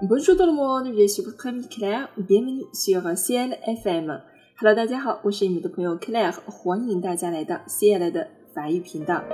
Bonjour tout le monde, je suis votre ami Claire, bienvenue sur Ciel FM。Hello， 大家好，我是你们的朋友 Claire， 欢迎大家来到 Ciel 的法语频道。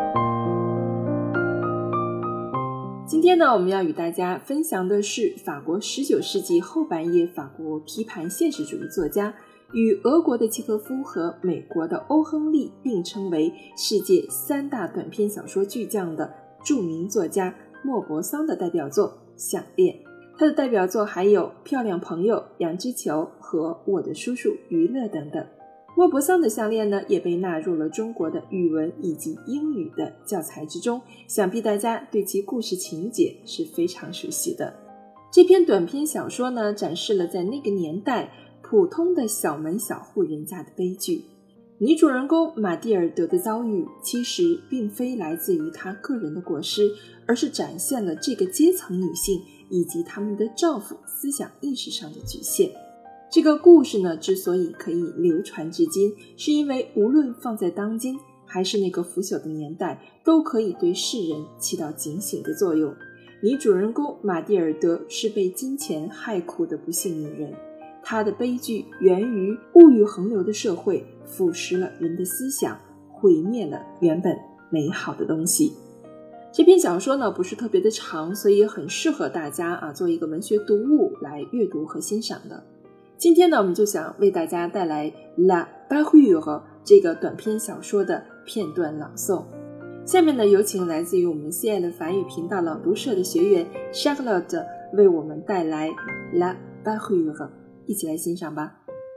今天呢，我们要与大家分享的是法国19世纪后半叶法国批判现实主义作家，与俄国的契诃夫和美国的欧亨利并称为世界3大短篇小说巨匠的著名作家莫泊桑的代表作《项链》。他的代表作还有《漂亮朋友》《羊脂球》和《我的叔叔于勒》等等。莫泊桑的项链呢，也被纳入了中国的语文以及英语的教材之中，想必大家对其故事情节是非常熟悉的。这篇短篇小说呢，展示了在那个年代普通的小门小户人家的悲剧。女主人公玛蒂尔德的遭遇其实并非来自于她个人的过失，而是展现了这个阶层女性以及她们的丈夫思想意识上的局限。这个故事呢，之所以可以流传至今，是因为无论放在当今还是那个腐朽的年代，都可以对世人起到警醒的作用。女主人公玛蒂尔德是被金钱害苦的不幸女人，她的悲剧源于物欲横流的社会腐蚀了人的思想，毁灭了原本美好的东西。这篇小说呢，不是特别的长，所以很适合大家做一个文学读物来阅读和欣赏的。今天呢，我们就想为大家带来 La Parure 这个短篇小说的片段朗诵。下面呢，有请来自于我们 CL 法语频道朗读社的学员 Charlotte 为我们带来 La Parure， 一起来欣赏吧。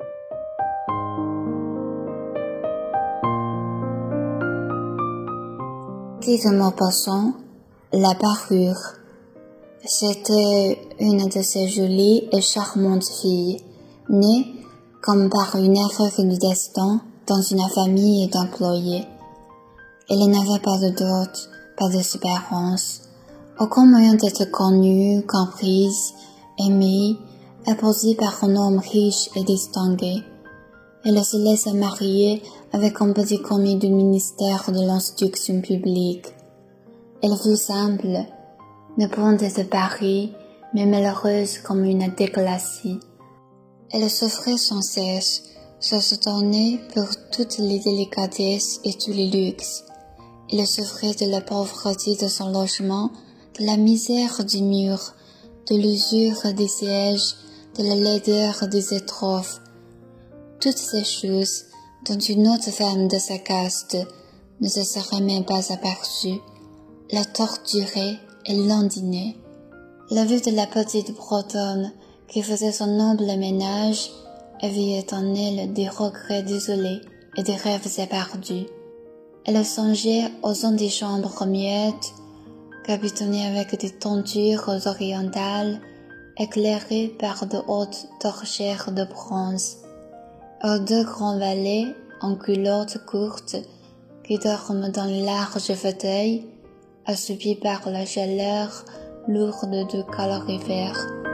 Dit de Maupassant, La Parure. C'était une de ces jolies et charmantes filles, née, comme par une erreur du destin, dans une famille d'employés. Elle n'avait pas de dot, pas d'espérance, aucun moyen d'être connue, comprise, aimée, épousée par un homme riche et distingué. Elle se laissa marier avec un petit commis du ministère de l'instruction publique. Elle fut simple, ne point de Paris, mais malheureuse comme une déclassée. Elle souffrait sans cesse, se soutenait pour toutes les délicatesses et tous les luxes. Elle souffrait de la pauvreté de son logement, de la misère du mur, de l'usure des sièges, de la laideur des étrophes. Toutes ces choses dont une autre femme de sa caste ne se serait même pas aperçue, la torturaient et l'indignaient. La vue de la petite Bretonne qui faisait son noble ménage éveillait en elle des regrets désolés et des rêves éperdus. Elle songeait aux antichambres muettes, capitonnées avec des tentures orientales, éclairées par de hautes torchères de bronze, aux 2 grands valets en culottes courtes qui dorment dans les larges fauteuils, assoupis par la chaleur lourde du calorifère.